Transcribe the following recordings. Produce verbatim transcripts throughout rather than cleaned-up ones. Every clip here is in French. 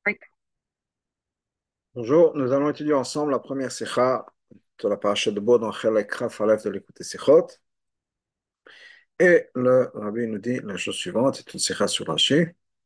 Bonjour, nous allons étudier ensemble la première sikha de la paracha de Bo dans Chelek Chaf Aleph de l'écoute Sikhot. Et le rabbi nous dit la chose suivante, c'est une sikha sur Rashi.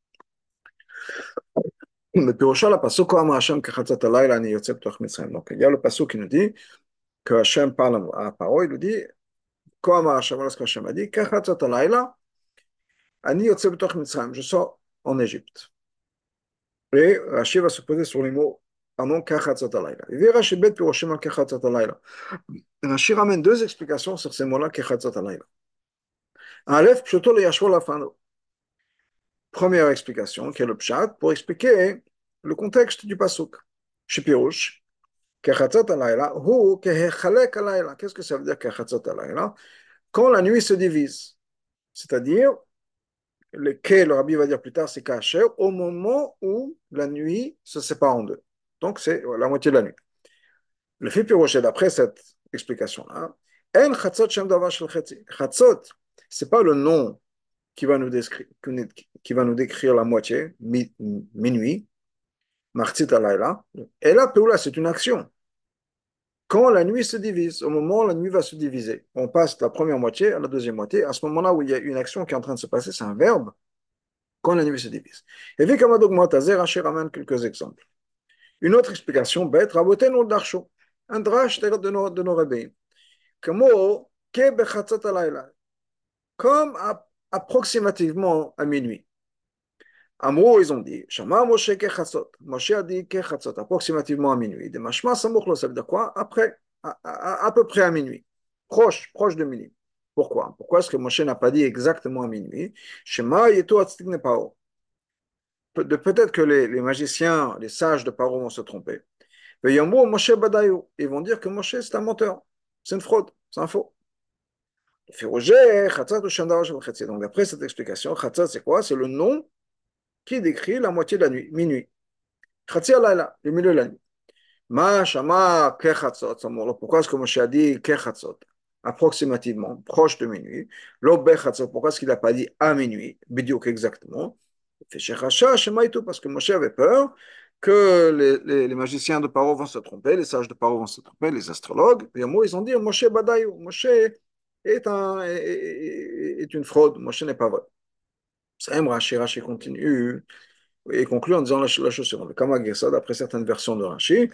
Le Pirosha, la pasuk Ko Amar Hashem kechatzot halayla ani yotze b'toch Mitzrayim. Donc il y a le pasuk qui nous dit que Hashem parle à Paro, il nous dit Ko Amar Hashem, voilà ce que Hashem a dit, kechatzot halayla ani yotze b'toch Mitzrayim, je sors en Égypte. Et Rashi va se poser sur les mots pardon, kechatzot halayla. Il dit Rashi bet Piroshim al kechatzot halayla. Rashi ramène deux explications sur ces mots-là kechatzot halayla. Aleph, Pshoto le Yashvo Lafano. Première explication, qui est le Pshat, pour expliquer le contexte du Pasuk. Shipirush, Kechatzot alayla, hu kehechalek alayla. Qu'est-ce que ça veut dire Kechatzot alayla? Quand la nuit se divise. C'est-à-dire, le que le rabbi va dire plus tard, c'est Kacher, au moment où la nuit se sépare en deux. Donc, c'est la moitié de la nuit. Le Fipirush, d'après cette explication-là, En Chatzot Shem Davar Shel Chetzi. Chatzot, c'est pas le nom qui va nous décrire, qui va nous décrire la moitié, mi, minuit, martit alayla. Et là, Péoula, c'est une action. Quand la nuit se divise, au moment où la nuit va se diviser, on passe de la première moitié à la deuxième moitié. À ce moment-là où il y a une action qui est en train de se passer, c'est un verbe, quand la nuit se divise. Et vu comme Adogmatazer, Rashi ramène quelques exemples. Une autre explication bête, Raboten ou Darsho, un drash de nos, de nos rabbins. Comme ke bechatzot alayla, comme approximativement à minuit. Amrou, ils ont dit, Shama Moshe Kechatzot. Moshe a dit Kechatzot, approximativement à minuit. De Mashma Samochlo, ça veut dire quoi? Après, à, à, à peu près à minuit. Proche, proche de minuit. Pourquoi? Pourquoi est-ce que Moshe n'a pas dit exactement à minuit? Shema Yeto Atztikne Paro. De peut-être que les, les magiciens, les sages de Paro vont se tromper. Et Yambo Moshe Badayo. Ils vont dire que Moshe, c'est un menteur. C'est une fraude. C'est un faux. Donc, d'après cette explication, Chatzat, c'est quoi? C'est le nom qui décrit la moitié de la nuit, minuit. Khatsi alayla, le milieu de la nuit. Ma shama kechatzot. Pourquoi est-ce que Moshe a dit kechatzot? Approximativement, proche de minuit. Lo bechatzot. Pourquoi est-ce qu'il n'a pas dit à minuit? Bidiouk exactement. Parce que Moshe avait peur que les, les, les magiciens de Paro vont se tromper, les sages de Paro vont se tromper, les astrologues. Et moi, ils ont dit Moshe Badayu. Moshe est, un, est, est une fraude. Moshe n'est pas vrai. Ça aime Rashi, Rashi continue et conclut en disant la, la chose suivante. Comme d'après certaines versions de Rashi,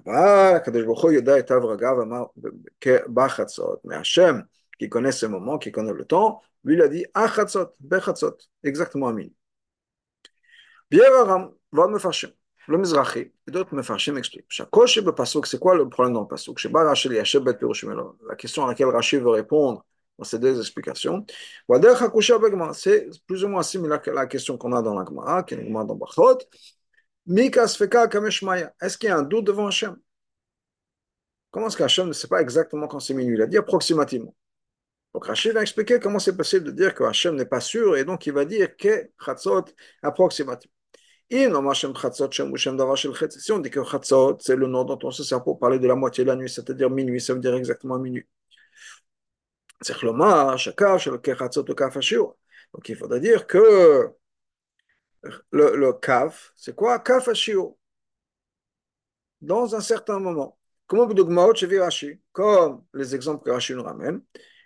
mais Hachem, qui connaît ce moment, qui connaît le temps, lui il a dit Achatzot, Bechatzot, exactement à minuit. Bieraram, va me fâcher. Le Mizrahi et d'autres me fâchent m'expliquent. Chakoshi be pasuk, c'est quoi le problème dans le pasuk? La question à laquelle Rashi veut répondre dans ces deux explications. C'est plus ou moins similaire à la question qu'on a dans la Gemara, qui est une Gemara dans Bachot. Est-ce qu'il y a un doute devant Hachem? Comment est-ce qu'Hachem ne sait pas exactement quand c'est minuit? Il a dit approximativement. Donc Rachid va expliquer comment c'est possible de dire que Hachem n'est pas sûr et donc il va dire que Chatzot approximativement. Si on dit que Chatzot, c'est le nom dont on se sert pour parler de la moitié de la nuit, c'est-à-dire minuit, ça veut dire exactement minuit. Donc il faudrait dire que le, le kaf, c'est quoi? Kaf ashio, dans un certain moment. Comme comme les exemples que Rashi nous ramène,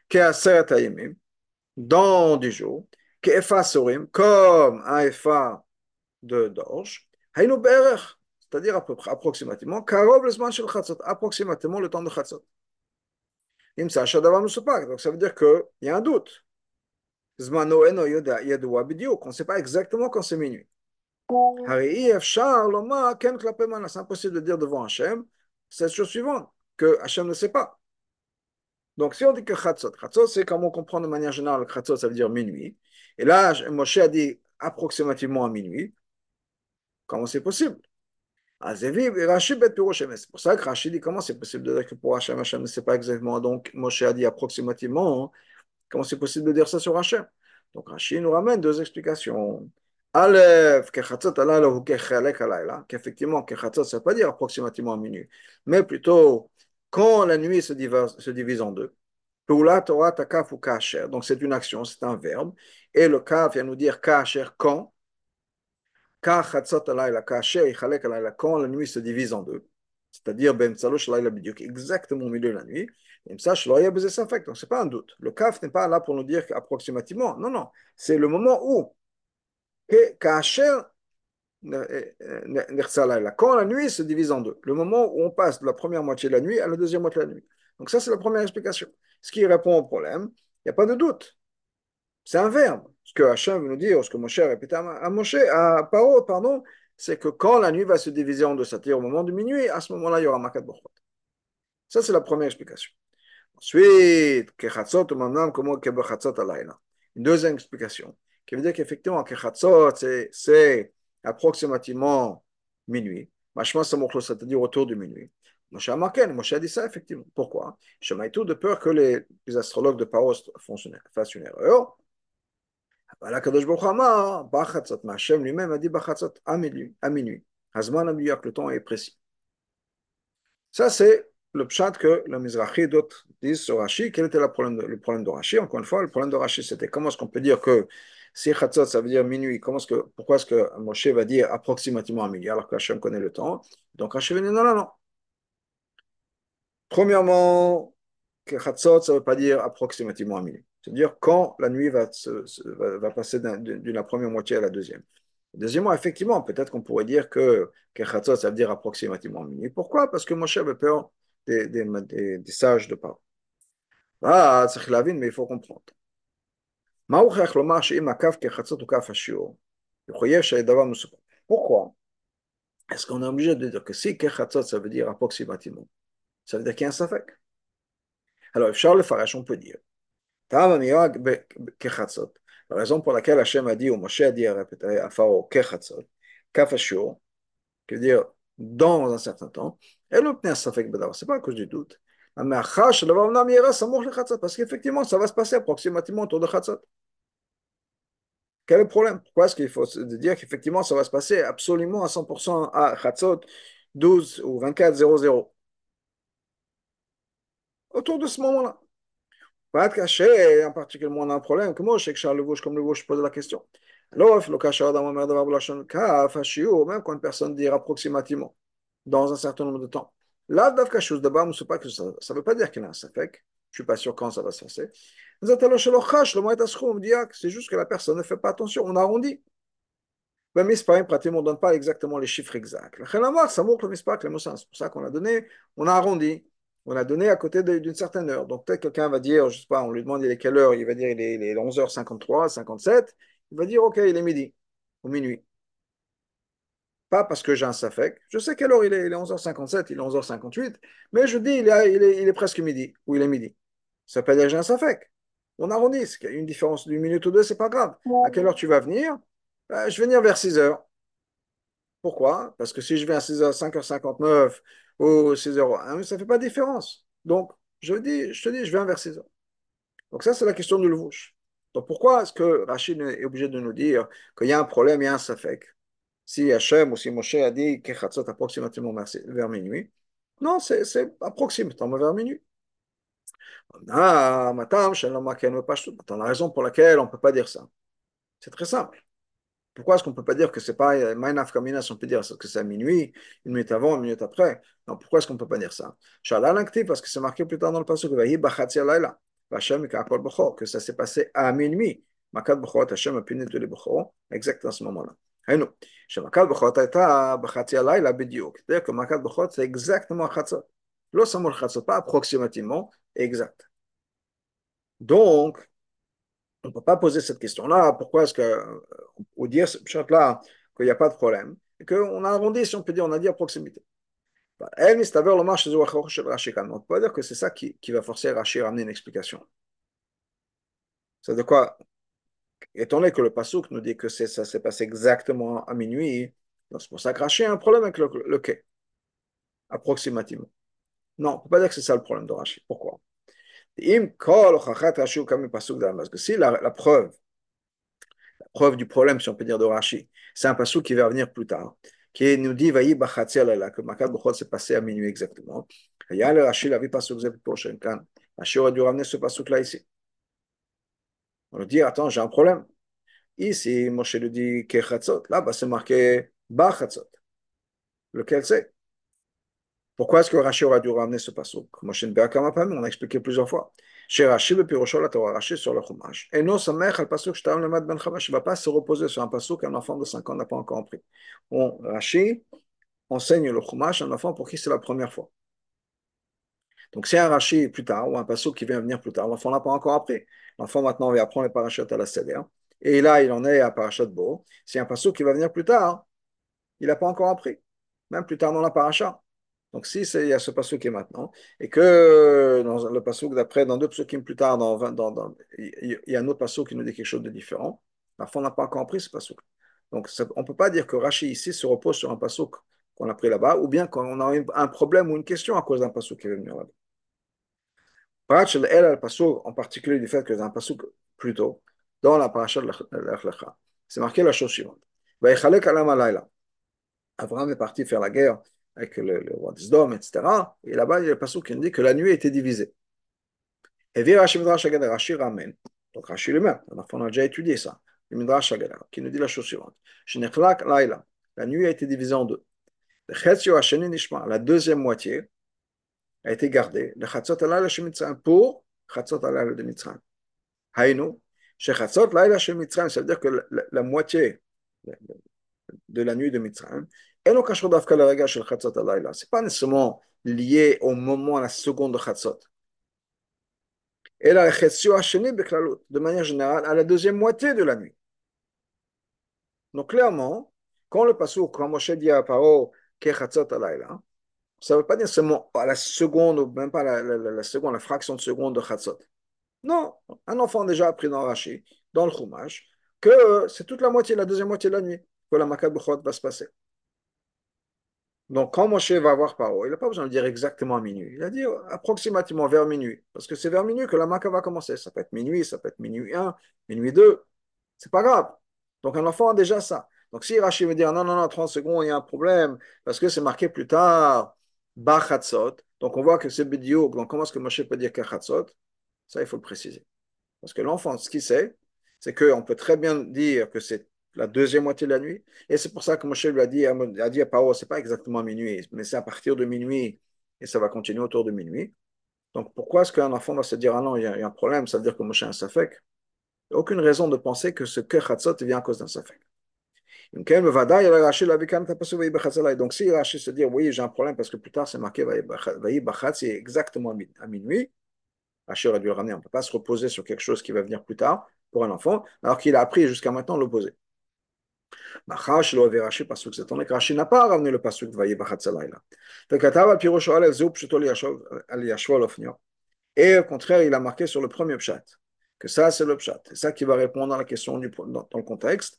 dans des jours, comme un efa de d'orge, c'est-à-dire à peu près, approximativement, approximativement le temps de Chatzot. Donc ça veut dire qu'il y a un doute. On ne sait pas exactement quand c'est minuit. C'est impossible de dire devant Hachem cette chose suivante, que Hachem ne sait pas. Donc si on dit que Chatzot, Chatzot c'est comme on comprend de manière générale, Chatzot ça veut dire minuit. Et là, Moshe a dit approximativement à minuit. Comment c'est possible? C'est pour ça que Rashi dit comment c'est possible de dire que pour Hachem, Hachem ne sait pas exactement. Donc Moshe a dit approximativement. Comment c'est possible de dire ça sur Hachem? Donc Rashi nous ramène deux explications. Aleph, qu'effectivement, Kechatzot, ça ne veut pas dire approximativement à minuit, mais plutôt quand la nuit se divise, se divise en deux. Torah, takaf ou kacher. Donc c'est une action, c'est un verbe. Et le kaf vient nous dire kacher quand. Car chatzot alayla, kasher yichalek alayla, quand la nuit se divise en deux, c'est-à-dire ben tzalosh alayla bidyuk, exactement au milieu de la nuit, et ça, je l'aurais besoin ça fait, donc c'est pas un doute. Le kaf n'est pas là pour nous dire approximativement, non, non, c'est le moment où, que kasher nechza alayla, quand la nuit se divise en deux, le moment où on passe de la première moitié de la nuit à la deuxième moitié de la nuit. Donc ça, c'est la première explication. Ce qui répond au problème, il n'y a pas de doute. C'est un verbe. Ce que Hachem veut nous dire, ce que Moshe répétait à Moshe, à Paro, pardon, c'est que quand la nuit va se diviser en deux, c'est-à-dire au moment de minuit, à ce moment-là, il y aura Makat Bochot. Ça, c'est la première explication. Ensuite, Kechatzot, maintenant, comment Kebechatzot alayla. Une deuxième explication, qui veut dire qu'effectivement, Kechatzot, c'est approximativement minuit. Machma Samochlo, c'est-à-dire autour de minuit. Moshe a marqué, Moshe a dit ça, effectivement. Pourquoi? Je tout de peur que les, les astrologues de Paro fassent une erreur. אבל הקדוש ברוך הוא אמר, בחצות, מהשם lui-même a dit בחצות, à minuit, à minuit. הזמן המדויק, le temps est précis. Ça, c'est le pshat que le Mizrahi et d'autres disent sur Rashi. Quel était le problème de, le problème de Rashi? Encore une fois, le problème de Rashi, c'était comment est-ce qu'on peut dire que si chatzot, ça veut dire minuit, comment est-ce que, pourquoi est-ce que Moshe va dire approximativement à minuit, alors que Hachem connaît le temps? Donc Rashi va dire non, non, non. Premièrement, que chatzot, ça ne veut pas dire approximativement à minuit. C'est-à-dire quand la nuit va, se, se, va, va passer d'une la première moitié à la deuxième. Deuxièmement, effectivement, peut-être qu'on pourrait dire que Kechatzot, ça veut dire approximativement minuit. Pourquoi? Parce que Moshe avait peur des, des, des, des sages de Paro. Ah, c'est la vie, mais il faut comprendre. Pourquoi? Est-ce qu'on est obligé de dire que si Kechatzot, ça veut dire approximativement, ça veut dire qu'il y a un safek? Alors, Charles le Farash, on peut dire. La raison pour laquelle Hachem a dit, ou Moshe a dit à répéter à Pharaon, Kechatzot, Kafashur, qui veut dire dans un certain temps, et l'obtenir ça fait que c'est pas à cause du doute. Parce qu'effectivement, ça va se passer approximativement autour de Chatzot. Quel est le problème? Pourquoi est-ce qu'il faut dire qu'effectivement, ça va se passer absolument à cent pour cent à Chatzot douze ou vingt-quatre zéro zéro? Autour de ce moment-là. Pas être caché, en particulier, on a un problème. Comment je sais que Charles Levouche, comme Levouche, pose la question. Alors, il faut le cacher dans ma mère de Vablachon, même quand une personne dit approximativement, dans un certain nombre de temps. Là, d'Avka chose de bas, pas que ça ne veut pas dire qu'il y a un safek. Je ne suis pas sûr quand ça va se passer. C'est juste que la personne ne fait pas attention. On arrondit. Le misparim, pratiquement, on ne donne pas exactement les chiffres exacts. C'est pour ça qu'on a donné, on a arrondi. On a donné à côté d'une certaine heure. Donc peut-être quelqu'un va dire, je ne sais pas, on lui demande il est quelle heure, il va dire il est, il est onze heures cinquante-trois, cinquante-sept, il va dire ok, il est midi, ou minuit. Pas parce que j'ai un safek, je sais quelle heure il est, il est onze heures cinquante-sept, il est onze heures cinquante-huit, mais je dis il est, il est, il est presque midi, ou il est midi. Ça peut dire que j'ai un safek. On arrondit, il y a une différence d'une minute ou deux, c'est pas grave. À quelle heure tu vas venir? Euh, je vais venir vers six heures. Pourquoi? Parce que si je viens à six heures, cinq heures cinquante-neuf ou six heures un, ça ne fait pas de différence. Donc, je, dis, je te dis, je viens vers six heures. Donc, ça, c'est la question du levouche. Donc, pourquoi est-ce que Rachid est obligé de nous dire qu'il y a un problème, il y a un safek? Si Hachem ou si Moshe a dit Kechatzot approximativement vers minuit, non, c'est approximativement vers minuit. Ah, matam, la raison pour laquelle on ne peut pas dire ça, c'est très simple. Pourquoi est-ce qu'on ne peut pas dire que c'est pas Maïnaf Kamina, si on peut dire que c'est à minuit, une minute avant, une minute après? Non, pourquoi est-ce qu'on ne peut pas dire ça? Shalal Ankti, parce que c'est marqué plus tard dans le passage que ça s'est passé à minuit. Makat Bechot, Hashem a puni tous les Bechot, exactement à ce moment-là. Et nous, chez Makat Bechot, Bachatzi Alayla Bidiok. C'est-à-dire que Makat Bechot, c'est exactement Chatzot. Lo Samol Chatzot, pas approximativement, exact. Donc, on ne peut pas poser cette question-là. Pourquoi est-ce que, ou dire ce là qu'il n'y a pas de problème, et qu'on a arrondi, si on peut dire, on a dit à proximité. On ne peut pas dire que c'est ça qui, qui va forcer Rashi à ramener une explication. C'est de quoi, étant donné que le Passouk nous dit que ça s'est passé exactement à minuit, c'est pour ça que Rashi a un problème avec le, le quai, approximativement. Non, on ne peut pas dire que c'est ça le problème de Rashi. Pourquoi? Parce que si la, la preuve preuve du problème, si on peut dire, de Rashi. C'est un passage qui va venir plus tard, qui nous dit, Vaï Bachatzi Alayla, que Makat Bechot s'est passé à minuit exactement. Il y a le Rashi, la vie passage prochaine. Rashi aurait dû ramener ce passage là ici. On lui dit, attends, j'ai un problème. Ici, Moshe lui dit Kechatzot. Là-bas, c'est marqué Bachatzot. Lequel c'est? Pourquoi est-ce que Rashi aurait dû ramener ce passouk? Moshe Nbeakamapam, on a expliqué plusieurs fois. Chez Rashi, le Piroshol, la Torah Rashi sur le Chumash. Et non, ça mère, le passouk, je le mat ben Chavash. Il ne va pas se reposer sur un passouk qu'un enfant de cinq ans n'a pas encore appris. On, Rashi enseigne le Chumash à un enfant pour qui c'est la première fois. Donc, si un Rashi plus tard, ou un passouk qui vient venir plus tard, l'enfant n'a pas encore appris. L'enfant maintenant va apprendre les parachutes à la Seder. Et là, il en est à Parashat Bo. Si un passouk qui va venir plus tard, il n'a pas encore appris. Même plus tard dans la paracha. Donc, si il y a ce passouk qui est maintenant, et que dans le passouk d'après, dans deux pasoukim plus tard, dans vingt, dans, dans, il y a un autre passouk qui nous dit quelque chose de différent, l'enfant n'a pas encore appris ce passouk. Donc, ça, on ne peut pas dire que Rashi ici se repose sur un passouk qu'on a pris là-bas, ou bien qu'on a un problème ou une question à cause d'un passouk qui est venu là-bas. Parachel El al passouk, en particulier du fait que c'est un passouk plus tôt, dans la paracha de l'Ech Lecha, c'est marqué la chose suivante. Vayichalek alam alayla. Abraham est parti faire la guerre avec le, le roi d'Isdom, et cetera. Et là-bas, il y a le passage qui nous dit que la nuit était divisée. Et via Rashi Midrash Haggadah, Rashi ramène. Donc Rashi lui-même, on a déjà étudié ça. Le Midrash Haggadah, qui nous dit la chose suivante. Shenechlak laila. La nuit a été divisée en deux. Le Chetzio Hasheni Nishma, la deuxième moitié, a été gardée. Le Chatzot Alayla Shemitzrayim pour Chatzot Alayla de Mitzrayim. Haïnou, chez Chatzot Alayla Shemitzrayim, ça veut dire que la, la, la moitié de la nuit de Mitzrayim. Et le Kashor d'Afka le Rega shel Chatzot Alayla. Ce n'est pas nécessairement lié au moment, à la seconde de Chatzot. Et la Chetzio Hasheni Beklalot, de manière générale, à la deuxième moitié de la nuit. Donc clairement, quand le Passouk, quand Moshe dit à Paro, Ke Chatzot Alayla, ça ne veut pas dire seulement à la seconde, ou même pas la, la, la, la seconde, la fraction de seconde de Chatzot. Non, un enfant déjà appris dans Rashi, dans le Chumash, que c'est toute la moitié, la deuxième moitié de la nuit, que la Makat Bechot va se passer. Donc, quand Moshe va voir Paro, il n'a pas besoin de dire exactement à minuit. Il a dit approximativement vers minuit. Parce que c'est vers minuit que la Maca va commencer. Ça peut être minuit, ça peut être minuit un, minuit deux. C'est pas grave. Donc, un enfant a déjà ça. Donc, si Rachid veut dire non, non, non, trente secondes, il y a un problème, parce que c'est marqué plus tard, Bachatzot. Donc, on voit que c'est Bidiouk. Donc, comment est-ce que Moshe peut dire Kachatzot? Ça, il faut le préciser. Parce que l'enfant, ce qu'il sait, c'est qu'on peut très bien dire que c'est la deuxième moitié de la nuit. Et c'est pour ça que Moshe lui a dit, a dit à Paro, c'est pas exactement minuit, mais c'est à partir de minuit et ça va continuer autour de minuit. Donc pourquoi est-ce qu'un enfant va se dire, ah non, il y a, il y a un problème, ça veut dire que Moshe a un safek? Il n'y a aucune raison de penser que ce Kechatzot vient à cause d'un safek. Donc si Rashi se dit, oui, j'ai un problème parce que plus tard c'est marqué, c'est exactement à minuit. Rashi aurait dû le ramener. On ne peut pas se reposer sur quelque chose qui va venir plus tard pour un enfant, alors qu'il a appris jusqu'à maintenant l'opposé. Rashi n'a pas ramené le pasuk de Vayi Bachatzalayla. Et au contraire, il a marqué sur le premier pshat, que ça c'est le pshat. C'est ça qui va répondre à la question du, dans, dans le contexte.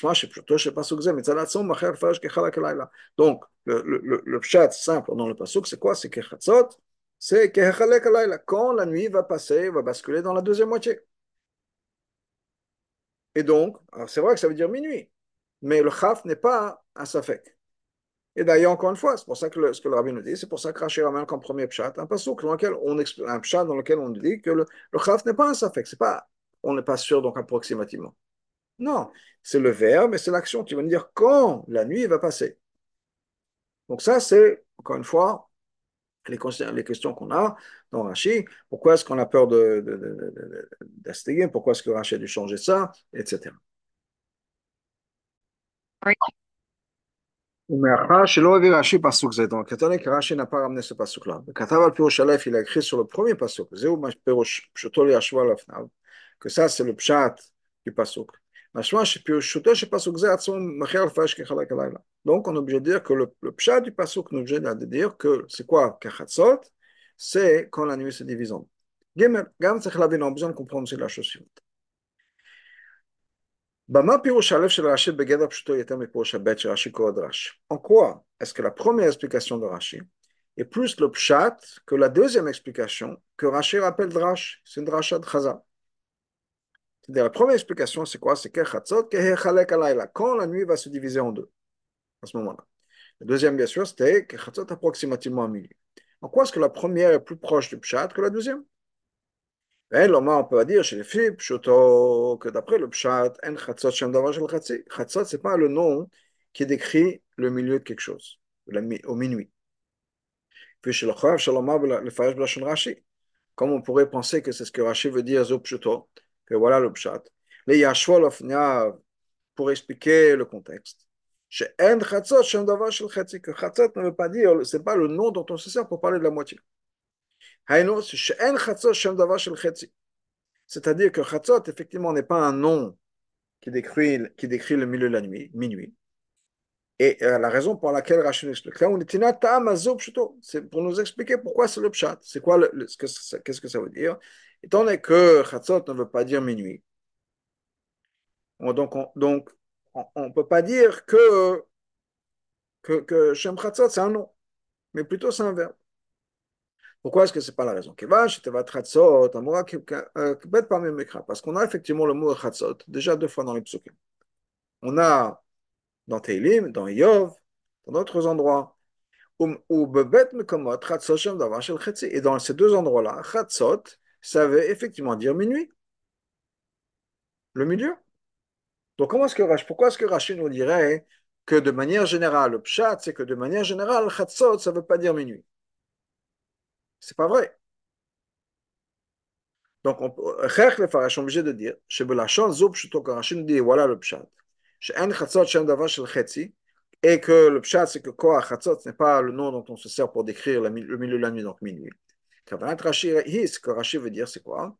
Donc, le, le, le pshat simple dans le pasuk, c'est quoi? C'est Kechatzot, c'est quand la nuit va passer, va basculer dans la deuxième moitié. Et donc, c'est vrai que ça veut dire minuit, mais le chaf n'est pas un safek. Et d'ailleurs, encore une fois, c'est pour ça que le, ce que le rabbin nous dit, c'est pour ça que Rashi ramène comme premier pshat un pasuk dans lequel on un pshat dans lequel on dit que le, le chaf n'est pas un safek. C'est pas, on n'est pas sûr donc approximativement. Non, c'est le verbe et c'est l'action qui va nous dire quand la nuit va passer. Donc ça, c'est encore une fois les, les questions qu'on a dans Rashi. Pourquoi est-ce qu'on a peur de, de, de, de, d'Astéguer? Pourquoi est-ce que Rashi a dû changer ça, et cetera. מאחר שלא הביא רש"י פסוק זה, donc étant donné que Rashi n'a pas ramené ce pasuk-là, כתב על פירוש א', il a écrit sur le premier pasuk, זהו פירוש פשוטו לישבו על אופניו, que ça c'est le pshat du pasuk. משמע שפירושו של פסוק זה עצמו מכריע לפרש כחלק הלילה. Donc on est obligé de dire que le, le pshat du pasuk nous obligé de dire que c'est quoi כחצות? C'est quand la nuit se divise en deux. ג' גם צריך להבין, on a besoin de comprendre aussi la chose suivante. במה פירוש הלב של רש"י בגדר פשוטו יותר מפירוש הב' של רש"י קורא דרש? En quoi est-ce que la première explication de Rashi est plus le pshat que la deuxième explication que Rashi rappelle drash? C'est une drasha de Chazal. C'est-à-dire la première explication c'est quoi? C'est kechatzot kehechalek alayla, quand la nuit va se diviser en deux à ce moment-là. La deuxième bien sûr c'était kechatzot approximativement à minuit. En quoi est-ce que la première est plus proche du pshat que la deuxième? Et l'homme, on peut dire chez les filles, pshuto, que d'après le pshat, en chatzot shem davar shel chatzi. Chatzot, c'est pas le nom qui décrit le milieu de quelque chose, la mi- au minuit. Puis chez le chav, shalom, le farash b'lashon Rashi. Comme on pourrait penser que c'est ce que Rashi veut dire, zo pshuto, que voilà le pshat. Les yashvol ofnia, pour expliquer le contexte. Chez en chatzot shem davar shel chatzi, que chatzot ne veut pas dire, c'est pas le nom dont on se sert pour parler de la moitié. Haïno, c'est chez en chatzot shem davar shel chatzi. C'est-à-dire que chatzot, effectivement, n'est pas un nom qui décrit, qui décrit le milieu de la nuit, minuit. Et euh, la raison pour laquelle Rachid nous explique là, on est c'est pour nous expliquer pourquoi c'est le pshat, c'est quoi, le, le, ce que ça, qu'est-ce que ça veut dire. Étant donné que chatzot ne veut pas dire minuit, on, donc on donc on ne peut pas dire que, que, que Shem Chatzot c'est un nom, mais plutôt c'est un verbe. Pourquoi est-ce que ce n'est pas la raison? Parce qu'on a effectivement le mot chatzot déjà deux fois dans les psukim. On a dans Teilim, dans Yov, dans d'autres endroits. Ou bebet mekomot chatzot shem davar shel chetzi. Et dans ces deux endroits-là, chatzot, ça veut effectivement dire minuit, le milieu. Donc comment est-ce que Rashi, pourquoi est-ce que Rashi nous dirait que de manière générale, le pshat, c'est que de manière générale, chatzot, ça ne veut pas dire minuit. C'est pas vrai. Donc, on le farash est obligé de dire, chez Belachon, Zoub, que Rashi nous dit, voilà le pshat. Chez En chatzot shem davar shel chetzi, et que le pshat, c'est que quoi, chatzot, ce n'est pas le nom dont on se sert pour décrire le milieu de la nuit, donc minuit. Kavanat Rashi, ce que Rashi veut dire, c'est quoi?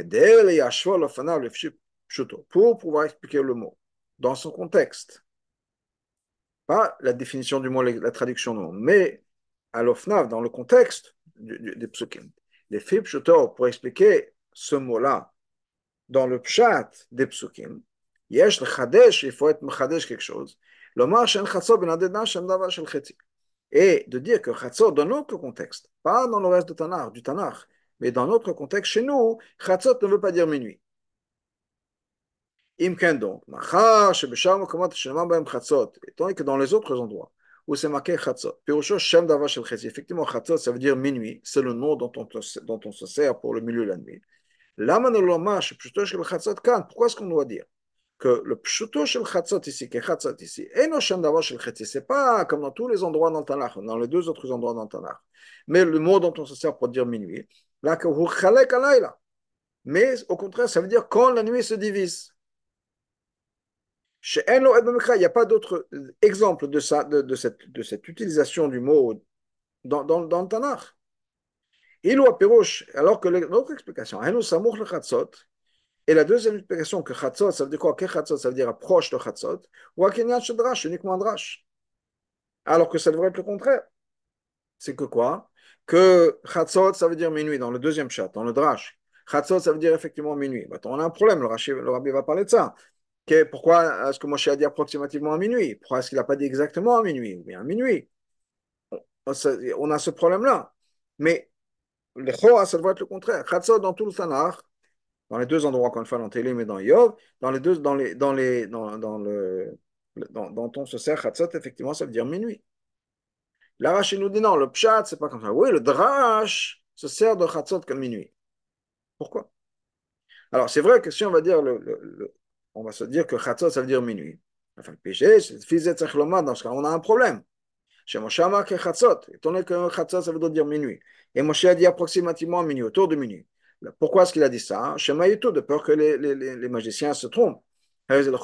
Pour pouvoir expliquer le mot dans son contexte. Pas la définition du mot, la traduction du mot, mais à l'ofnav, dans le contexte du, du, des psukim. Les fib pshuto, pour expliquer ce mot-là dans le pshat des psukim, yesh le chadesh, il faut être mechadesh quelque chose. L'omar shen chatzot ben adedna shem davar shel chetzi. Et de dire que chatzot, dans notre contexte, pas dans le reste de Tanakh, du Tanakh, mais dans notre contexte, chez nous, chatzot ne veut pas dire minuit. Imken donc, machar, shebeshar mokomot shenamar bahem chatzot, étant que dans les autres endroits où c'est marqué chatzot, pirusho shem davar shel chetzi, effectivement chatzot, ça veut dire minuit, c'est le nom dont on, dont on se sert pour le milieu de la nuit. Lama ne lomar, shepshuto shel chatzot kan, pourquoi est-ce qu'on doit dire que le pshuto shel chatzot ici, que chatzot ici, et no shem davar shel chetzi, c'est pas comme dans tous les endroits dans le Tanakh, dans les deux autres endroits dans le Tanakh, mais le mot dont on se sert pour dire minuit, là que hu chalek alayla, mais au contraire, ça veut dire quand la nuit se divise. Chez En lo et b'mekra, il n'y a pas d'autre exemple de, ça, de, de, cette, de cette utilisation du mot dans, dans, dans le Tanakh. Il ou a pirouche, alors que l'autre explication, En samour le chatzot, et la deuxième explication, que chatzot, ça veut dire quoi? Que chatzot, ça veut dire approche de chatzot, ou akinyan shadrash, uniquement drash. Alors que ça devrait être le contraire. C'est que quoi? Que chatzot, ça veut dire minuit, dans le deuxième chat, dans le drash. Chatzot, ça veut dire effectivement minuit. Maintenant, on a un problème, le, Rashi, le rabbi va parler de ça. Que, pourquoi est-ce que Moshe a dit approximativement à minuit? Pourquoi est-ce qu'il n'a pas dit exactement à minuit? Ou bien à minuit? On, on a ce problème-là. Mais le choa, ça devrait être le contraire. Chatzot, dans tout le Tanakh, dans les deux endroits, encore une fois, dans Télim et dans Yov, dans les deux, dans les, dans les, dans, dans le, dans, dans ton se sert Chatzot, effectivement, ça veut dire minuit. Là, Rachid nous dit non, le pshat, c'est pas comme ça. Oui, le drash se sert de Chatzot comme minuit. Pourquoi? Alors, c'est vrai que si on va dire, le, le, le, on va se dire que Chatzot, ça veut dire minuit. Enfin, le péché, c'est Fizet Zachloma, dans ce cas, on a un problème. Chez Moshe a marqué Chatzot, étant donné que Chatzot, ça veut dire minuit. Et Moshe a dit approximativement minuit, autour de minuit. Pourquoi est-ce qu'il a dit ça? Chez Maïtou, de peur que les, les, les magiciens se trompent. On peut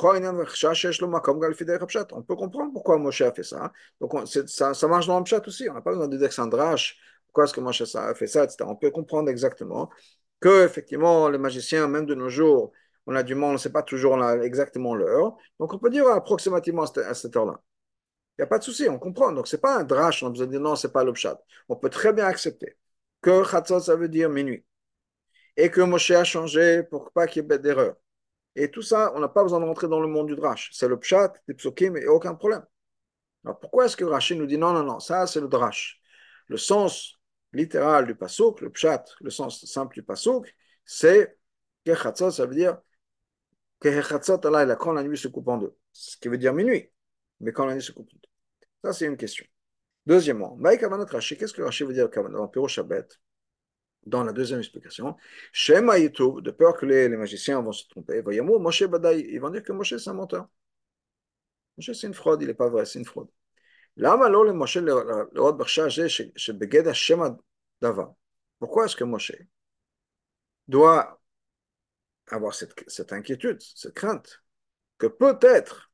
comprendre pourquoi Moshe a fait ça. Donc, on, ça, ça marche dans le pshat aussi. On n'a pas besoin de dire que c'est un drache. Pourquoi est-ce que Moshe a fait ça, et cetera. On peut comprendre exactement que, effectivement, les magiciens, même de nos jours, on a du mal, on ne sait pas toujours là, exactement l'heure. Donc, on peut dire approximativement à cette, à cette heure-là. Il n'y a pas de souci, on comprend. Donc, ce n'est pas un drache, on a besoin de dire non, ce n'est pas le pshat. On peut très bien accepter que chatzot, ça veut dire minuit. Et que Moshe a changé pour pas qu'il y ait d'erreur. Et tout ça, on n'a pas besoin de rentrer dans le monde du drache. C'est le pshat, des psukim, et aucun problème. Alors, pourquoi est-ce que Rachid nous dit non, non, non, ça, c'est le drache. Le sens littéral du pasuk, le pshat, le sens simple du pasuk, c'est que chatzot, ça veut dire que chatzot alayla, quand la nuit se coupe en deux. Ce qui veut dire minuit. Mais quand la nuit se coupe en deux. Ça, c'est une question. Deuxièmement, Maïk Kavanat Rashi, qu'est-ce que Rashi veut dire Kavanat en Piro Shabbat? dans la deuxième explication, Shema Yitub, de peur que les, les magiciens vont se tromper, voyez-moi, Moshe Badaï, ils vont dire que Moshe c'est un menteur. Moshe c'est une fraude, il n'est pas vrai, c'est une fraude. למה לא למשה לראות בחשש הזה שבגד השם הדבר? Pourquoi est-ce que Moshe doit avoir cette, cette inquiétude, cette crainte, que peut-être,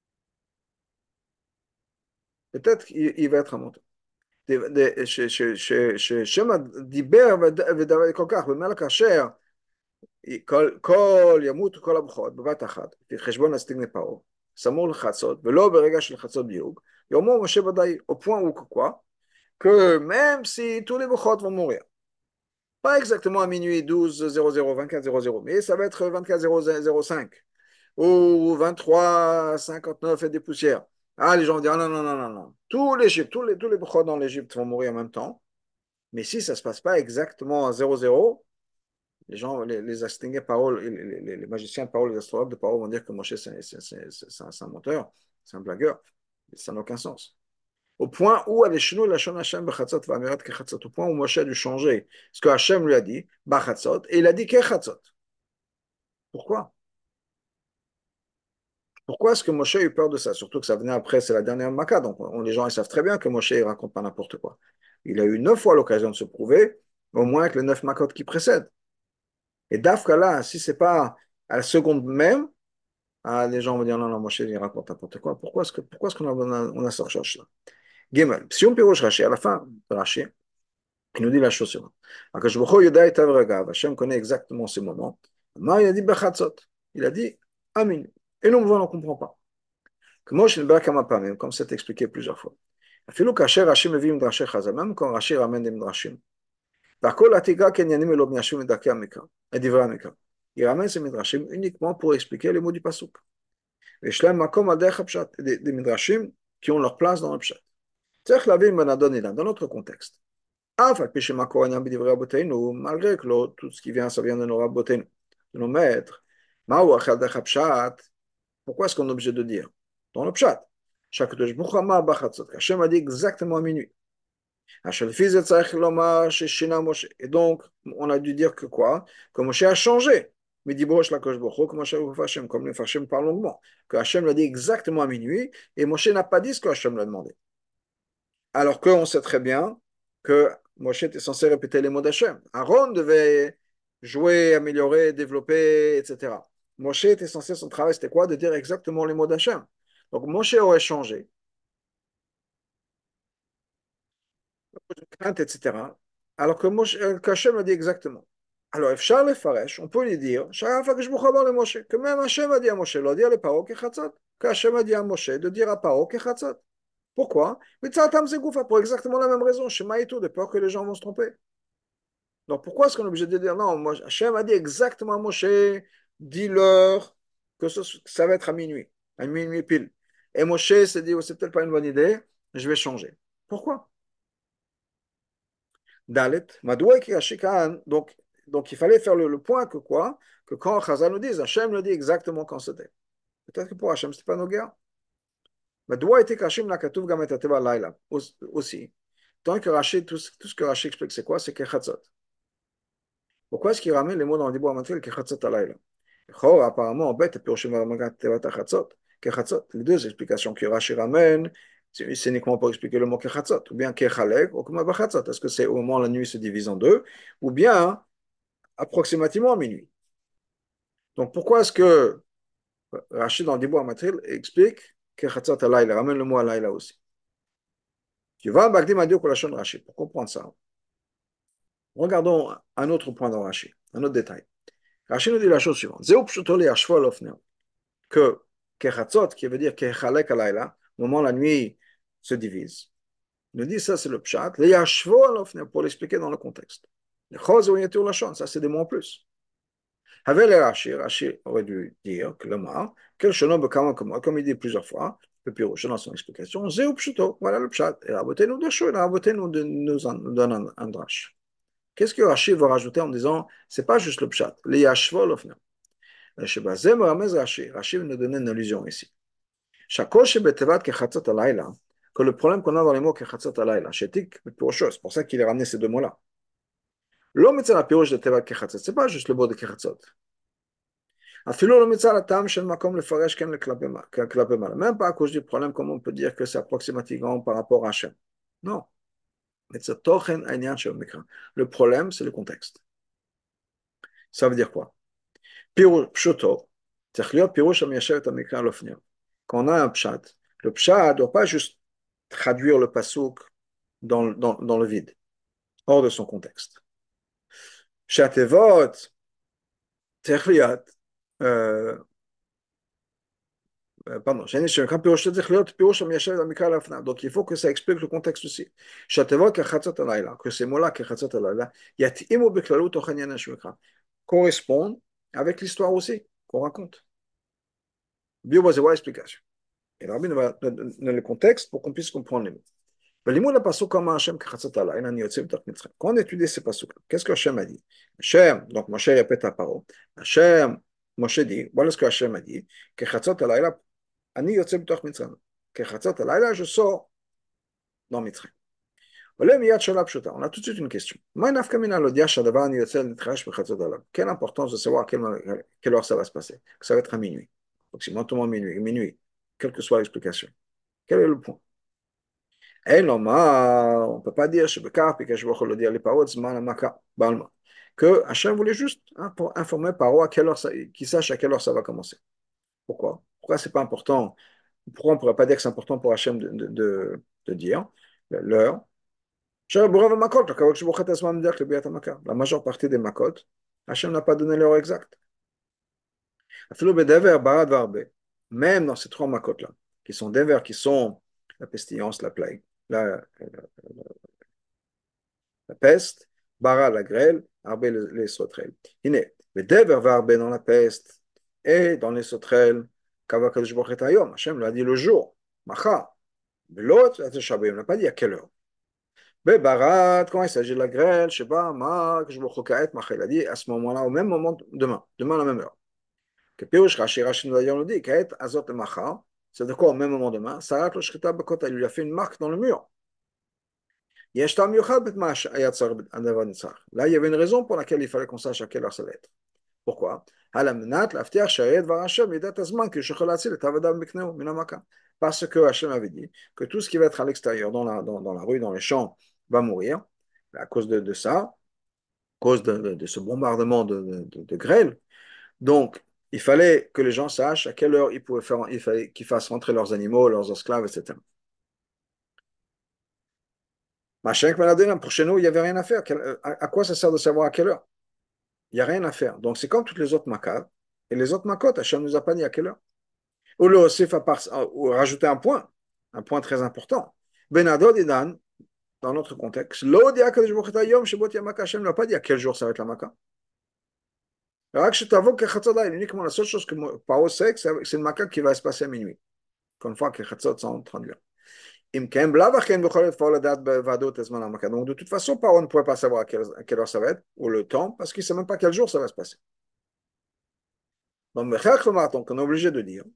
peut-être qu'il il va être un menteur. ששמא דיבר ודבר כל כך, במלך כאשר כל, כל ימות כל הבכורות בבת אחת, לפי חשבון הסטיגני פרעה, סמור לחצות, ולא ברגע של חצות דיוג, יאמר משה ודאי, au point où quoi, que même si tous les bechot vont mourir, pas exactement à minuit douze zéro zéro, vingt-quatre zéro zéro, mais ça va être vingt-quatre zéro zéro cinq ou vingt-trois cinquante-neuf et des poussières. Ah, les gens vont dire, ah, non, non, non, non, non. Tous les Égyptes, tous les, tous les bechot dans l'Égypte vont mourir en même temps. Mais si ça ne se passe pas exactement à zéro zéro, les gens, les, les astingués paroles, les, les, les magiciens de parole, les astrologues de parole vont dire que Moshe, c'est, c'est, c'est, c'est un, un menteur, c'est un blagueur. Ça n'a aucun sens. Au point où, au point où Moshe a dû changer ce que Hachem lui a dit, Bachatzot, et il a dit Kechatzot. Pourquoi? Pourquoi est-ce que Moshe a eu peur de ça? Surtout que ça venait après, c'est la dernière Maca, donc on, les gens ils savent très bien que Moshe ne raconte pas n'importe quoi. Il a eu neuf fois l'occasion de se prouver, au moins avec les neuf Makot qui précèdent. Et Dafka là, si c'est pas à la seconde même, ah, les gens vont dire non, non, Moshe il raconte n'importe quoi. Pourquoi est-ce que, pourquoi est-ce qu'on a, on a, on a cette recherche-là? Gimel, si on piroche Rashi, à la fin de Rashi, il nous dit la chose suivante. Akash Baruch Hu Yoda et Avragav, Hachem connaît exactement ces moments. Ma, il a dit Bechatzot. Il a dit Amin. Et nous, on ne comprend pas. Comme comme c'est expliqué plusieurs fois. Afilou Kacher Rashi Mevi Midrashé Chazal, même quand Rashi ramène des Midrashim. D'Akol Atiga Kenyanim Elo Miashim Medakei Amika, et Divrei Amika. Il ramène ces Midrashim uniquement pour expliquer les mots du Pasuk. Et Shlem Makom Adech Pshat, des Midrashim qui ont leur place dans le Pshat. C'est-à-dire que la vie me dans notre contexte. Malgré que tout ce qui vient, ça vient de nos rabbotenu, de nos maîtres. Pourquoi est-ce qu'on est obligé de dire? Dans le pshat. Hachem a dit exactement à minuit. Et donc, on a dû dire que quoi? Que Moshe a changé. Mais dit comme les Farshim parlent longuement. Que Hachem l'a dit exactement à minuit et Moshe n'a pas dit ce que Hachem l'a demandé. Alors qu'on sait très bien que Moshe était censé répéter les mots d'Hachem. Aaron devait jouer, améliorer, développer, et cetera. Moshe était censé, son travail, c'était quoi? De dire exactement les mots d'Hachem. Donc Moshe aurait changé, crainte, et cetera. Alors que Moshe, qu'Hachem a dit exactement. Alors, Efshar le Faresh, on peut lui dire, que même Hachem a dit à Moshe, le dire les paroles Kechatzot, qu'Hachem a dit à Moshe de dire à paroles Kechatzot. Pourquoi? Mais pour exactement la même raison, Shema et tout, de peur que les gens vont se tromper. Donc pourquoi est-ce qu'on est obligé de dire non? Moi, Hachem a dit exactement à Moshe, dis-leur que ce- ça va être à minuit, à minuit pile. Et Moshe s'est dit, oh, c'est peut-être pas une bonne idée, je vais changer. Pourquoi? Dalet, Madoua qui donc, donc il fallait faire le, le point que quoi? Que quand Chazal nous dit, Hachem nous dit exactement quand c'était. Peut-être que pour Hachem, ce n'était pas nos guerres. Madoua était Kashim la Katuv Gamet Ateva Laila aussi. Tant que Rashi, tout, tout ce que Rashi explique, c'est quoi? C'est Kechatzot. Pourquoi est-ce qu'il ramène les mots dans le Dibur Amatril Kechatzot Alayla? Apparemment, en bête, les deux explications que Rashi ramène, c'est uniquement pour expliquer le mot Kechatzot, ou bien Kechalek, ou comme Bachatzot. Est-ce que c'est au moment où la nuit se divise en deux, ou bien approximativement à minuit? Donc pourquoi est-ce que Rashi dans le Dibur Amatril explique Kechatzot Alayla, ramène le mot Alayla aussi? Tu vas Bagdim Adio Kolashon Rashi, pour comprendre ça. Regardons un autre point dans Rashi, un autre détail. Rashi nous dit la chose suivante. Que Kechatzot, qui veut dire Kechalek alayla, au moment où la nuit se divise, il nous dit ça c'est le pshat, le yashvo alofne, pour l'expliquer dans le contexte. Le chos ou yatur lachon, ça c'est des mots en plus. Avec le Rashi, Rashi aurait dû dire que le mar, quel chenon bekama comme il dit plusieurs fois, le pirouche dans son explication, zéou pshuto, voilà le pshat. Et Raboté nous dachou, et Raboté nous donne un, un drash. Qu'est-ce que Rashi va rajouter en disant, c'est pas juste le pshat, le yashvo alofne. Rashi Rashi nous donne une allusion ici. Que le problème qu'on a dans les mots Kechatzot Alayla, c'est pour ça qu'il a ramené ces deux mots-là. לא מצא הפירוש לטבע כחצות, זה pas juste le mot de כחצות. אפילו לא מצא הטעם של מקום לפרש כן כלפי מעלה. Même pas à cause du problème, comment on peut dire que c'est approximativement par rapport à Hachem. Non. Mais c'est תוכן העניין של המקרא. Le problème, c'est le contexte. Ça veut dire quoi? פירוש פשוטו, צריך להיות פירוש המיישב את המקרא על אופניו. Quand on a un pshat, le pshat ne doit pas juste traduire le pasuk dans, dans, dans le vide, hors de son contexte. שהתיבות צריך להיות, euh, pardon, שנקרא פירוש צריך להיות פירוש המיישב את המקרא על אופניו. Donc il faut que ça explique le contexte aussi. שהתיבות כחצות הלילה, que ces mots-là כחצות הלילה, יתאימו בכללות תוכן עניין שמקרא, correspondent avec l'histoire aussi qu'on raconte. Bio va voir l'explication. Et le rabbi nous donne le contexte pour qu'on puisse comprendre les mots. Quand on étudie ces passuks, qu'est-ce que Hachem a dit? Hachem, donc Moshe répète la parole. Hachem, Moshe dit, voilà ce que Hachem a dit, que Chatzot halayla, ani yotze b'toch Mitzrayim. Que Chatzot halayla, je sors dans Mitzrayim. On a tout de suite une question. Quelle importance de savoir à quelle, quelle heure ça va se passer? Que ça va être à minuit. Approximativement minuit, minuit, quelle que soit l'explication. Quel est le point? On ne peut pas dire que Hachem voulait juste hein, pour informer Paro à quelle heure ça, qu'il sache à quelle heure ça va commencer. Pourquoi? Pourquoi c'est pas important? Pourquoi on ne pourrait pas dire que c'est important pour Hachem de, de, de, de dire l'heure? La majeure partie des makot, Hachem n'a pas donné l'heure exacte. Même dans ces trois makot-là, qui sont des vers qui sont la pestilence, la plague, la, la, la peste, bara, la grêle, arbe, les, les sauterelles. Le dever va arbe dans la peste et dans les sauterelles, kavakadosh bochet hayom, Hachem l'a dit le jour, macha, l'autre, il n'a pas dit à quelle heure. Barat, quand il s'agit de la grêle, je ne sais pas, ma, que je me recaille, il a dit à ce moment-là, au même moment, demain, demain à la même heure. Que Pirouche Rashi, Rashi nous a dit, Kaet Azot le Macha, c'est de quoi au même moment demain, Sarat le Shrita Bakota, il lui a fait une marque dans le mur. Là, il y avait une raison pour laquelle il fallait qu'on sache à quelle heure ça va être. Pourquoi? Parce que Hachem avait dit que tout ce qui va être à l'extérieur, dans la, dans, dans la rue, dans les champs, va mourir à cause de, de ça, à cause de, de, de ce bombardement de, de, de grêle. Donc, il fallait que les gens sachent à quelle heure ils pouvaient faire, il fallait qu'ils fassent rentrer leurs animaux, leurs esclaves, et cetera. Pour chez nous, il n'y avait rien à faire. À quoi ça sert de savoir à quelle heure? Il n'y a rien à faire. Donc, c'est comme toutes les autres makas. Et les autres makot, Hachem ne nous a pas dit à quelle heure. Ou le osif à part, ou rajouter un point, un point très important. Benadod Idan, dans notre contexte, l'Odia Kadishbochetayom, Shebot Yamaka, Hachem ne l'a pas dit à quel jour ça va être la maka. Uniquement la seule chose que Paro sait, c'est une maka qui va se passer à minuit. Une fois que Chatzot sont traduits. Donc, de toute façon, Paro ne pouvait pas savoir à quelle, à quelle heure ça va être, ou le temps, parce qu'il ne sait même pas quel jour ça va se passer. Donc, donc on est obligé de dire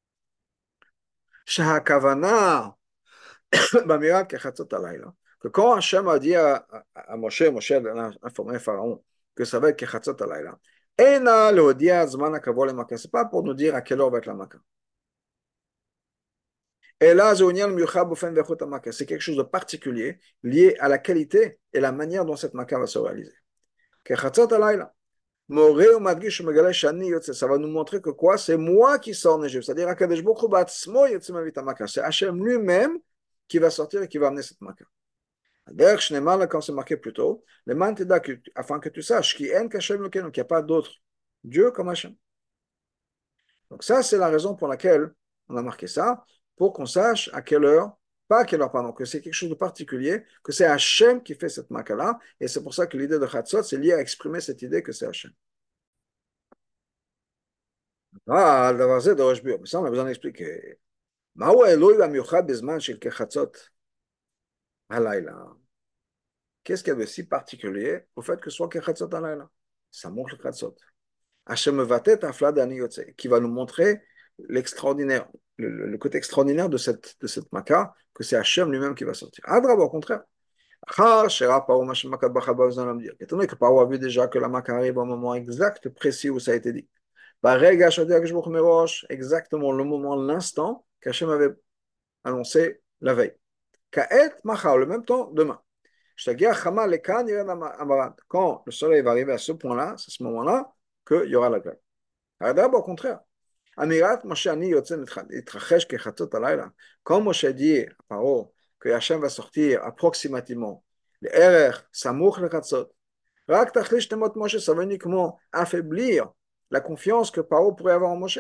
que quand Hachem a dit à, à, à Moshe, Moshe a informé Pharaon que ça va être Kechatzot Alayla, ce n'est pas pour nous dire à quelle heure va être la Maka. Et là, c'est quelque chose de particulier lié à la qualité et la manière dont cette Maka va se réaliser. Kechatzot Alayla. Ça va nous montrer que quoi? C'est moi qui sors Négev. C'est-à-dire c'est Hachem lui-même qui va sortir et qui va amener cette Maka. D'ailleurs, quand c'est marqué plus tôt, afin que tu saches qu'il n'y a pas d'autre Dieu comme Hachem. Donc ça, c'est la raison pour laquelle on a marqué ça, pour qu'on sache à quelle heure, pas à quelle heure, pardon, que c'est quelque chose de particulier, que c'est Hachem qui fait cette Maka-là, et c'est pour ça que l'idée de Chatzot, c'est lié à exprimer cette idée que c'est Hachem. Ah, le verset de Rosh Bio, mais ça on a besoin d'expliquer. Ma'u Eloi hamiuchad bezman shel kechatzot halayla. Qu'est-ce qu'il y a de si particulier au fait que ce soit kechatzot halayla? Ça montre le chatzot. Hachem vatet aflad ani yotze, qui va nous montrer l'extraordinaire, le, le côté extraordinaire de cette, de cette maka, que c'est Hachem lui-même qui va sortir. Adrab, au contraire. אחר שראה פרעה מה שמכה בחר באוזן למדיר. étant donné que פרעה a vu déjà que la Mecque arrive au moment exact, précis où ça a été dit. ברגע שהודיע הקדוש ברוך הוא מראש, exactement le moment, l'instant, qu'Hachem avait annoncé la veille. כעת, מחר, le même temps, demain. כשתגיע חמה לכאן, ירד המרד. Quand le soleil va arriver à ce point-là, c'est ce moment-là, qu'il y aura la grève. הרי d'abord, au contraire. אמירת משה אני יוצא להתרחש כחצות הלילה. Quand Moshe dit à Paro que Hachem va sortir approximativement, לערך סמוך לחצות, רק תחליש תמות משה, ça veut uniquement affaiblir la confiance que Paro pourrait avoir en Moshe.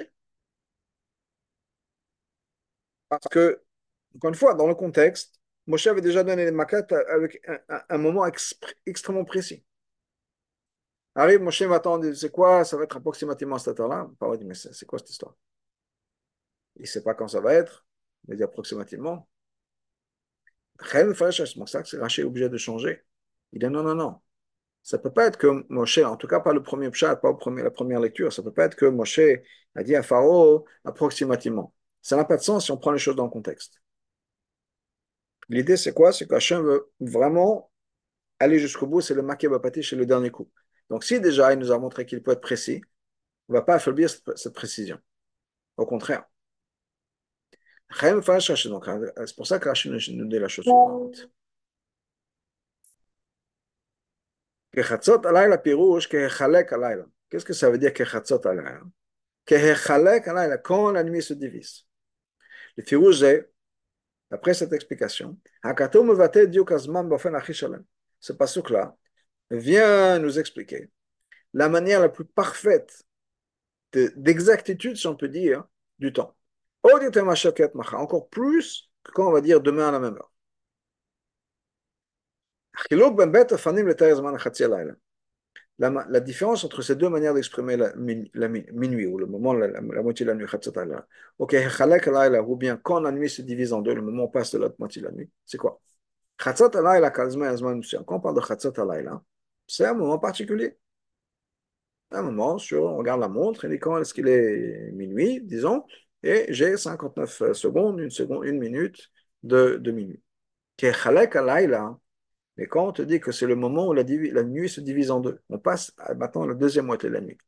Parce que, encore une fois, dans le contexte, Moshe avait déjà donné les maquettes avec un, un, un moment exp- extrêmement précis. Arrive Moshe m'attend, dit c'est quoi, ça va être approximativement à cette heure-là. Paro dit mais c'est, c'est quoi cette histoire? Il ne sait pas quand ça va être, il dit approximativement. C'est pour ça que Rachel est obligé de changer. Il dit non, non, non. Ça ne peut pas être que Moshe, en tout cas pas le premier pshat, pas le premier, la première lecture, ça ne peut pas être que Moshe a dit à Pharaon approximativement. Ça n'a pas de sens si on prend les choses dans le contexte. L'idée, c'est quoi? C'est qu'Hachem veut vraiment aller jusqu'au bout, c'est le maquet bapati chez le dernier coup. Donc si déjà il nous a montré qu'il peut être précis, on ne va pas affaiblir cette, cette précision. Au contraire. Donc, c'est pour ça que Rachel nous dit la chose suivante. Kechatzot alayla pirouche kehechalek alayla. Qu'est-ce que ça veut dire kechatzot alayla? Kehechalek alayla, quand la nuit se divise. Le pirouche c'est, après cette explication, hakatou mevatel diuk azman bafen achi shalem. Ce pasuk-là vient nous expliquer la manière la plus parfaite de, d'exactitude, si on peut dire, du temps. Encore plus que quand on va dire demain à la même heure. La, la différence entre ces deux manières d'exprimer la, la minuit, ou le moment, la, la, la moitié de la nuit, ok, ou bien quand la nuit se divise en deux, le moment passe de l'autre moitié de la nuit, c'est quoi? Quand on parle de Chatzot Alayla, c'est un moment particulier. Un moment, sur, on regarde la montre, et quand est-ce qu'il est minuit, disons, et j'ai cinquante-neuf secondes, une seconde, une minute de, de minuit. Mais quand on te dit que c'est le moment où la, la nuit se divise en deux, on passe à, maintenant à la deuxième moitié de la nuit.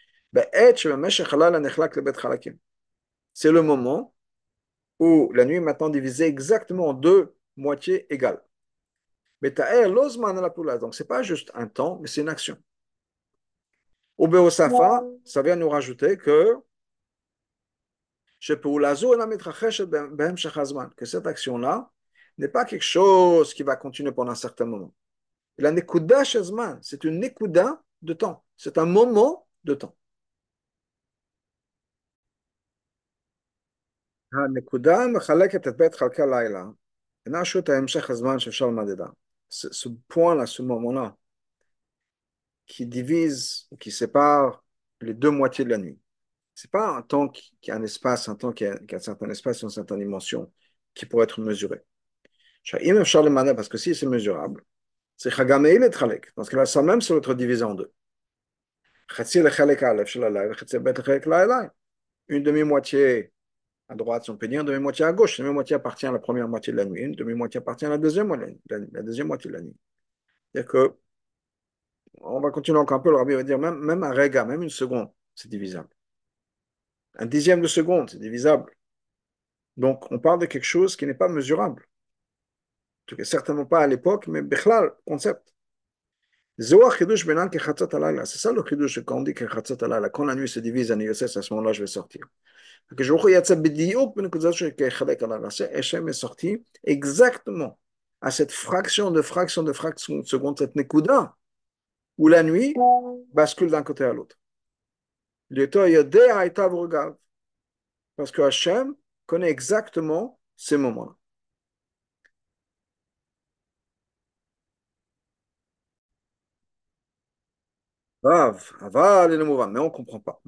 C'est le moment où la nuit est maintenant divisée exactement en deux moitiés égales. Mais donc ce n'est pas juste un temps, mais c'est une action. Au Beosafa, ça vient nous rajouter que que cette action-là n'est pas quelque chose qui va continuer pendant un certain moment. La nekuda shazman, c'est une nekuda de temps. C'est un moment de temps. הנקודה מחלקת את בית חלקי לילה, אינה שו"ת המשך הזמן שאפשר למדדה. Ce point-là, ce moment-là, qui divise, qui sépare les deux moitiés de la nuit. C'est pas un temps qui, qui a un espace, un temps qui a, qui a un certain espace, une certaine dimension, qui pourrait être mesuré. Parce que si c'est mesurable, c'est Chagameil et Chalek. Dans ce cas-là, ça même, c'est l'autre divisé en deux. Une demi-moitié à droite, si on peut dire, une demi-moitié à gauche. Une demi-moitié appartient à la première moitié de la nuit, une demi-moitié appartient à la deuxième, la, la deuxième moitié de la nuit. C'est-à-dire que, on va continuer encore un peu, le rabbi va dire, même, même un réga, même une seconde, c'est divisable. Un dixième de seconde, c'est divisable. Donc, on parle de quelque chose qui n'est pas mesurable. En tout cas, certainement pas à l'époque, mais bichlal, concept. C'est ça le chidouche quand on dit que quand la nuit se divise en Yosef, à ce moment-là, je vais sortir. Hachem est sorti exactement à cette fraction de fraction de fraction de seconde, cette nekuda, où la nuit bascule d'un côté à l'autre. Parce que Hachem connaît exactement ces moments-là. Rav, aval et le mouvement, mais on ne comprend pas.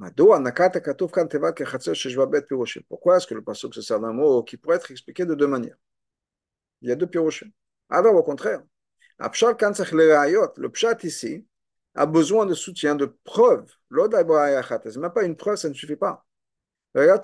Pourquoi est-ce que le pasuk se sert d'un mot qui pourrait être expliqué de deux manières? Il y a deux piroshim. Alors, au contraire, le pshat ici a besoin de soutien, de preuves. C'est même pas une preuve, ça ne suffit pas. Même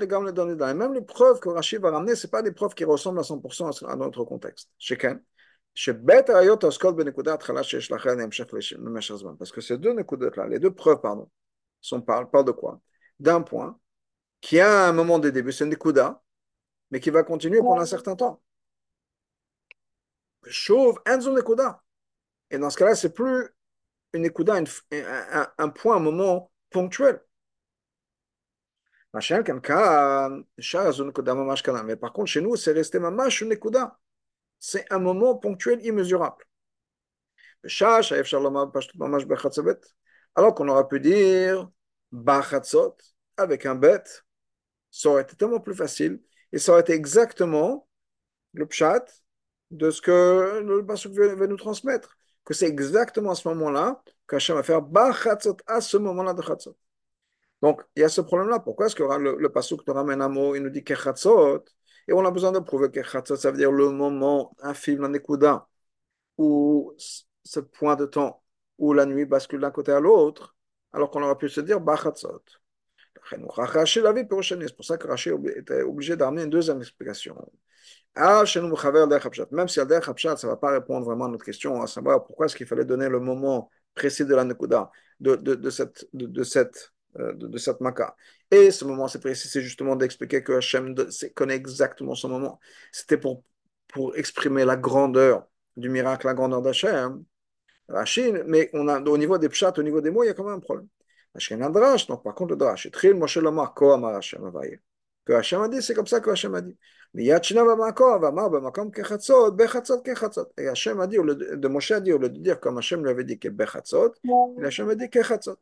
les preuves que Rachid va ramener, ce pas des preuves qui ressemblent à cent pour cent à notre contexte. Chacun. שבית הראיות עוסקות בנקודה התחלה שיש לכן המשך למשך זמן. Parce que ces deux נקודות-là, les deux preuves, pardon, sont parlent, parlent de quoi? D'un point qui a un moment de début, c'est une nekuda, mais qui va continuer pendant un certain temps. Chauve, un zone nekuda. Et dans ce cas-là, c'est plus une nekuda, une, un, un, un point, un moment ponctuel. Mais par contre, chez nous, c'est resté mamash une nekuda. C'est un moment ponctuel immesurable. Alors qu'on aurait pu dire bachatzot avec un bet, ça aurait été tellement plus facile et ça aurait été exactement le pshat de ce que le pasuk veut nous transmettre. Que c'est exactement à ce moment-là qu'Hachem va faire bachatzot à ce moment-là de chatzot. Donc, il y a ce problème-là. Pourquoi est-ce que le, le pasuk nous ramène un mot, il nous dit kechatzot, et on a besoin de prouver que kechatzot, ça veut dire le moment infime, la nekuda, où ce point de temps où la nuit bascule d'un côté à l'autre, alors qu'on aurait pu se dire bachatzot. C'est pour ça que Rashi était obligé d'amener une deuxième explication. Même si Al-Derech Hapshat, ça ne va pas répondre vraiment à notre question, à savoir pourquoi est-ce qu'il fallait donner le moment précis de la Nekuda, de, de, de cette, de, de cette, de, de cette Maka. Et ce moment c'est précis, c'est justement d'expliquer que Hachem connaît exactement ce moment. C'était pour, pour exprimer la grandeur du miracle, la grandeur d'Hachem. Rachid, mais on a, au niveau des pshat, au niveau des mots, il y a quand même un problème. Hachem a drash, donc par contre le drash, Tril Moshe Lomar, Ko Amar Hachem Avaye. Que Hachem a dit, c'est comme ça que Hachem a dit. Mais Yachina Vamako, Vamar, Bamakom Kechatzot, Bechatzot, Kechatzot. Et Hachem a dit, de Moshe a dit, au lieu de dire comme Hachem lui avait dit que Bechatzot, Hachem a dit Kechatzot.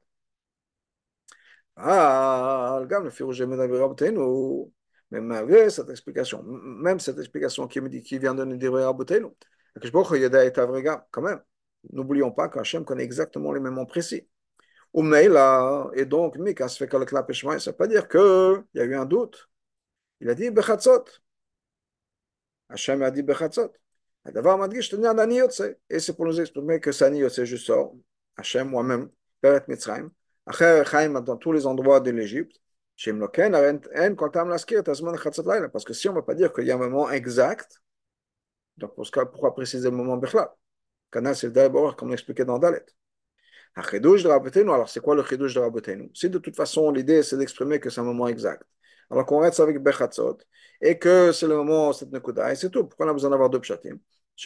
Ah, le gars, le Firouj Rabbeinu, mais malgré cette explication, même cette explication qui me dit qui vient de nous dire Rabbeinu, que je vois qu'il est un vrai gars, quand même. N'oublions pas qu'Hachem connaît exactement les moments précis. Ou mais là, et donc, Mika se fait que le clapéchement, ça ne veut pas dire qu'il y a eu un doute. Il a dit Bechatzot. Hachem a dit Bechatzot. D'abord, m'a dit, je tenais un ani yotse. Et c'est pour nous exprimer que c'est ani yotse, je sors. Hachem, moi-même, Peret Mitzrayim. Après, Chaim, dans tous les endroits de l'Égypte. Shem Loken, en Kontam Laskir, Tazman Chatzot Laila. Parce que si on ne va pas dire qu'il y a un moment exact, donc pour ce cas, pourquoi préciser le moment Bechla? Canal, c'est d'abord, comme l'expliquait dans Dalet. Chidouche de Rabbeinu, alors c'est quoi le chidouche de Rabbeinu? Si de toute façon l'idée c'est d'exprimer que c'est un moment exact, alors qu'on reste avec Bechatzot et que c'est le moment cette nekuda et c'est tout. Pourquoi on a besoin d'avoir deux pshatim?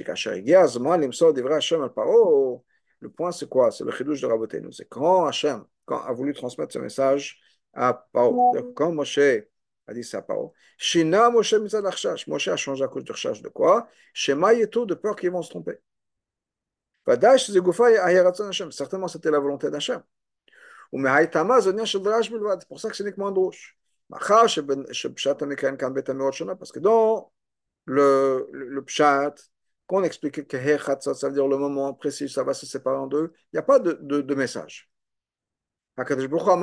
Le point c'est quoi? C'est le chidouche de Rabbeinu. C'est quand Hachem quand a voulu transmettre ce message à Paro. Quand Moshe a dit ça à Paro, Shina Moshe mitzad achshash. Moshe a changé à cause de chash de quoi? Shema yetu, de peur qu'ils vont se tromper. Certainement, c'était la volonté d'Hachem. C'est pour ça que c'est uniquement un douche. Parce que dans le, le, le pshat, qu'on explique que ça veut dire le moment précis, ça va se séparer en deux, il n'y a pas de, de, de message. Moshe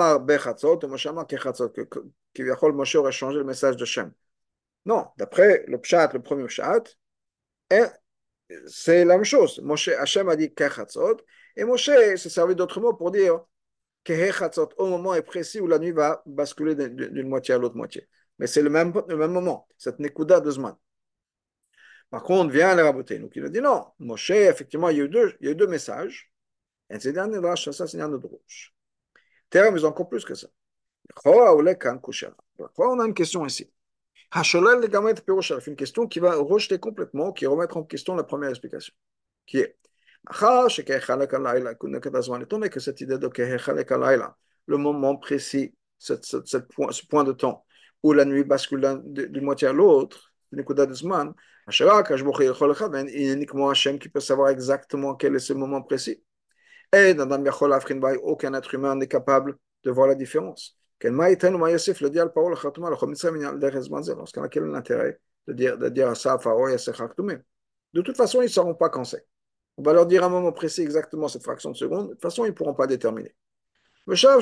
aurait changé le message de Shem. Non, d'après le pshat, le premier pshat, c'est la même chose. Moshe, Hachem a dit Kechatzot, et Moshe s'est servi d'autres mots pour dire Kechatzot au moment est précis où la nuit va basculer d'une moitié à l'autre moitié. Mais c'est le même, le même moment, cette Nekuda de Zman. Par contre, vient le Rabbeinu qui nous dit non, Moshe, effectivement, il y a eu deux, il y a eu deux messages, et c'est un Midrash, ça c'est un Midrash. Terre, mais encore plus que ça. On a une question ici. Hasholel le Gamet Piroshal, une question qui va rejeter complètement, qui remettre en question la première explication, qui est étant donné que cette idée de le moment précis, ce, ce, ce, point, ce point de temps où la nuit bascule d'une moitié à l'autre, il y a uniquement Hachem qui peut savoir exactement quel est ce moment précis. Et aucun être humain n'est capable de voir la différence. Dans ce cas-là, quel est l'intérêt de dire, de dire à ça à Pharaon et à ses Chaktoumim? De toute façon, ils ne sauront pas quand c'est. On va leur dire à un moment précis exactement cette fraction de seconde. De toute façon, ils ne pourront pas déterminer. Alors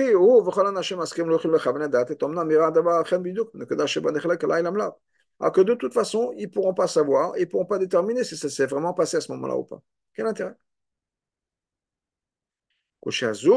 que de toute façon, ils ne pourront pas savoir, ils ne pourront pas déterminer si ça s'est vraiment passé à ce moment-là ou pas. Quel intérêt? Et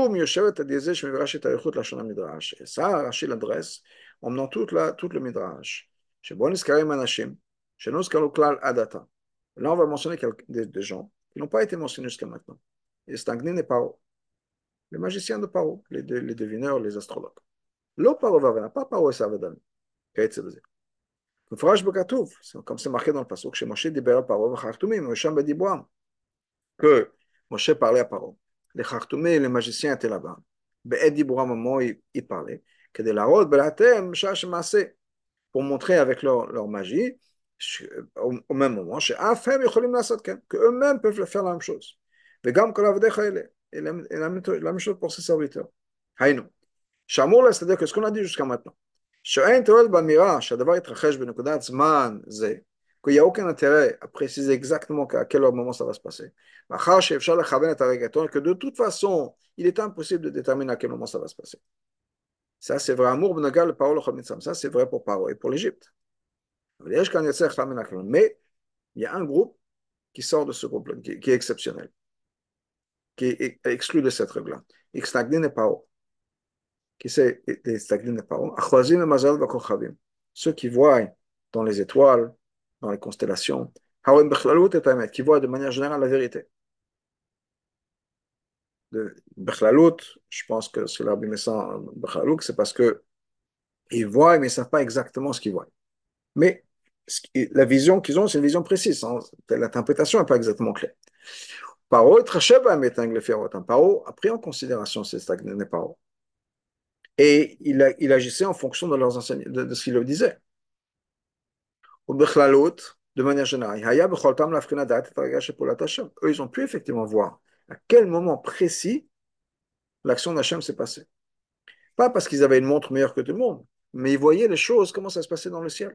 ça, Rashi l'adresse en menant tout, la, tout le Midrash. Chez Bonis Karim Anashim, chez nous, Kalukal Adata. Là, on va mentionner quelques, des, des gens qui n'ont pas été mentionnés jusqu'à maintenant. Les Stagnin et Paro, les magiciens de Paro, les, les devineurs, les astrologues. לא פרעה והבנה, pas פרעה עשו ודן, כעצב זה. מפורש בכתוב, comme c'est marqué dans le passage, שמשה דיבר על פרעה וחרטומים, הוא שם בדיבורם, que Moshe parlait à Paro. Les Khartoumés, les magiciens étaient là-bas. בעת דיבורם, au moment où ils parlaient, כדי להראות בלעתם שעה שמעשה, pour montrer avec leur, leur magie, au, au même moment, שאף הם יכולים לעשות כן, qu'eux-mêmes peuvent faire la même chose. וגם כל עבדיך אלה, et la, la, la même chose pour ses serviteurs. היינו. שאמור לה, c'est-à-dire que ce qu'on a dit jusqu'à maintenant, שאין תועלת באמירה שהדבר יתרחש בנקודת זמן זה, qu'il n'y a aucun intérêt à préciser exactement à quel moment ça va se passer, מאחר שאפשר לכוון את הרגע, que de toute façon, il est impossible de déterminer à quel moment ça va se passer. Ça, c'est vrai, amour בנוגע לפרעה לכל מצרים, ça, c'est vrai pour Paro et pour l'Égypte. Mais il y a un groupe qui sort de ce groupe-là, qui, qui est exceptionnel, qui est exclu de cette règle-là. Ixtagdin et Paro. Qui c'est Ixtagdin et Paro? Achwazim et Mazal Vakochavim. Ceux qui voient dans les étoiles, dans les constellations, Hawem Bechlalut et Tamet, qui voient de manière générale la vérité. De Bechlalut, je pense que c'est l'Arbi Messan Bechlalut, c'est parce que ils voient, mais ils ne savent pas exactement ce qu'ils voient. Mais la vision qu'ils ont, c'est une vision précise. Hein. L'interprétation n'est pas exactement claire. Paro Paro a pris en considération ces stagnes Paro. Et il, a, il agissait en fonction de leurs enseignements, de, de ce qu'il leur disait. Ou de manière générale, eux, ils ont pu effectivement voir à quel moment précis l'action d'Hachem s'est passée. Pas parce qu'ils avaient une montre meilleure que tout le monde, mais ils voyaient les choses, comment ça se passait dans le ciel.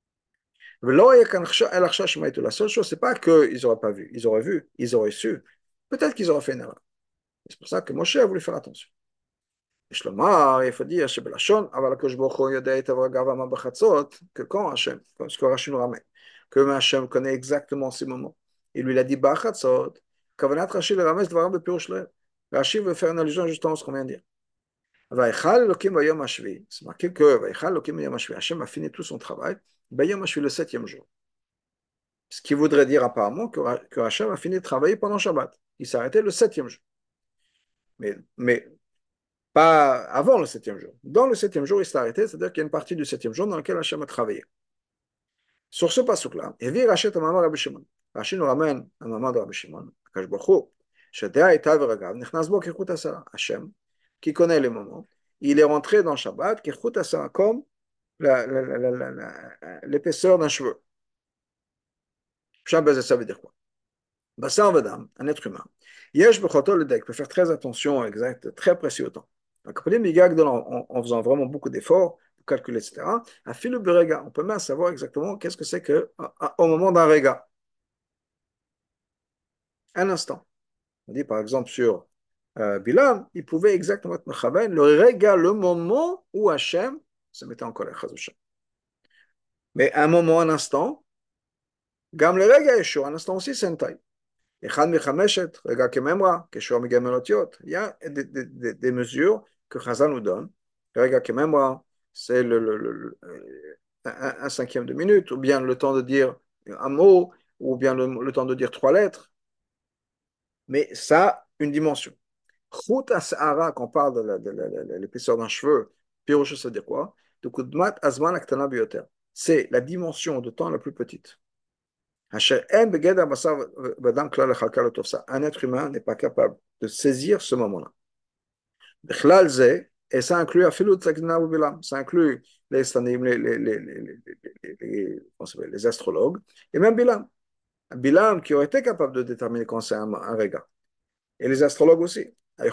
La seule chose, c'est pas qu'ils n'auraient pas vu, ils auraient vu, ils auraient su. Peut-être qu'ils auraient fait une erreur. C'est pour ça que Moshe a voulu faire attention. יש לומר, il faut dire, שבלשון, אבל הקדוש ברוך הוא יודע היטב רגעיו ואמר בחצות, que quand Hachem, ce que Rachid nous ramène, que Hachem connaît exactement ces moments. Il lui a dit בחצות, כוונת רש"י לרמז דבריו בפירוש לב. רש"י veut faire une allusion justement à ce qu'on vient de dire. ויכל אלוקים ביום השביעי, c'est marqué que ויכל אלוקים ביום השביעי, Hachem a fini tout son travail, ביום השביעי le septième jour. Ce qui voudrait dire apparemment que, que Hachem a fini de travailler pendant Shabbat. Il s'est arrêté le septième jour. Mais, mais pas avant le septième jour. Dans le septième jour, il s'est arrêté, c'est-à-dire qu'il y a une partie du septième jour dans laquelle Hachem a travaillé. Sur ce pasuk-là, Evi rachète un maman Rabbi Shimon. Rachid nous ramène un maman de Rabbi Shimon, Akash Baruch Shadea et Taveragav, Nechnas Bo Kechut Asara. Hachem, qui connaît les moments, il est rentré dans Shabbat, Kechut Asara, comme l'épaisseur d'un cheveu. Shabbat, ça veut dire quoi? Bassar Vadam, un être humain. Yesh Bechoto le Dek peut faire très attention, exact, très précis au temps. Donc, en, en faisant vraiment beaucoup d'efforts pour calculer, et cetera. À fil de rega, on peut même savoir exactement qu'est-ce que c'est que au moment d'un rega. Un instant. On dit par exemple sur euh, Bilam, il pouvait exactement être mechaven le rega, le moment où Hachem se mettait en colère. Mais un moment, un instant, gam le rega est chaud, un instant aussi, c'est une taille. Il y a des, des, des, des mesures que Chazal nous donne. C'est le, le, le, un, un cinquième de minute, ou bien le temps de dire un mot, ou bien le, le temps de dire trois lettres. Mais ça, une dimension. Chut Asahara, quand on parle de l'épaisseur d'un cheveu, Piroche, ça veut dire quoi? C'est la dimension de temps la plus petite. Un être humain n'est pas capable de saisir ce moment-là. Et ça inclut ça inclut les, les, les, les, les, les, les astrologues et même Bilam. Bilam qui aurait été capable de déterminer quand c'est un, un regard. Et les astrologues aussi. Ils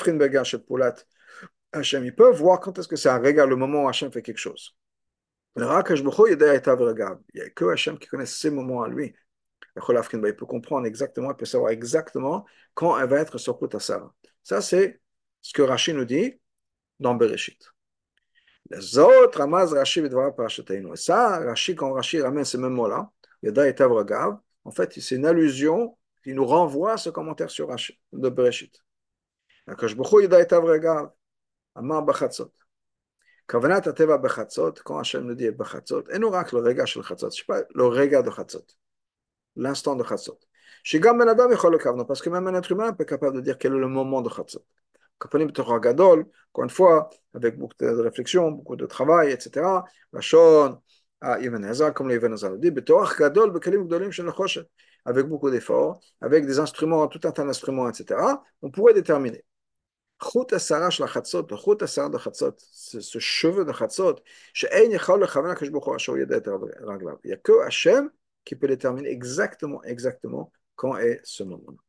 peuvent voir quand est-ce que c'est un regard, le moment où Hachem fait quelque chose. Il n'y a que Hachem qui connaît ces moments à lui. Il peut comprendre exactement, il peut savoir exactement quand elle va être sur Sarah. Ça, c'est ce que Rashi nous dit dans Bereshit. Les autres, Ramaz, Rashi, Vidvara, Parashataynu. Et ça, Rashi, quand Rashi ramène ces mêmes mots-là, Yada et Tavragav, en fait, c'est une allusion qui nous renvoie à ce commentaire sur Rashi, de Bereshit. Akash B'chu, Yada et Tavragav, Amar Bachatzot. Kavanat Ateva Bachatzot, quand Hachem nous dit Bachatzot, et nous rak le regard sur le Chatzot, je ne sais pas, le regard de Chatzot. l'instant de Chatzot. Shigam Ben Adam Yechol Lekavno, parce que même un être humain peut être capable de dire quel est le moment de Chatzot. Kapanim Torah Gadol, encore une fois, avec beaucoup de réflexion, beaucoup de travail, et cetera. Lachon, à Ibn Hazar, comme l'Ibn Hazar le dit, Betorah Gadol, Bekalim Gdolim Shel Choshet, avec beaucoup d'efforts, avec des instruments, tout un tas d'instruments, et cetera, on pourrait déterminer. Chut Asara Shel Chatzot, le Chut Asara de Chatzot, ce cheveu de Chatzot, She'ein Yechol Lechavan HaKadosh Baruch Hu Asher Yodeh Et Raglav. Il n'y a que Hachem qui peut déterminer exactement, exactement quand est ce moment.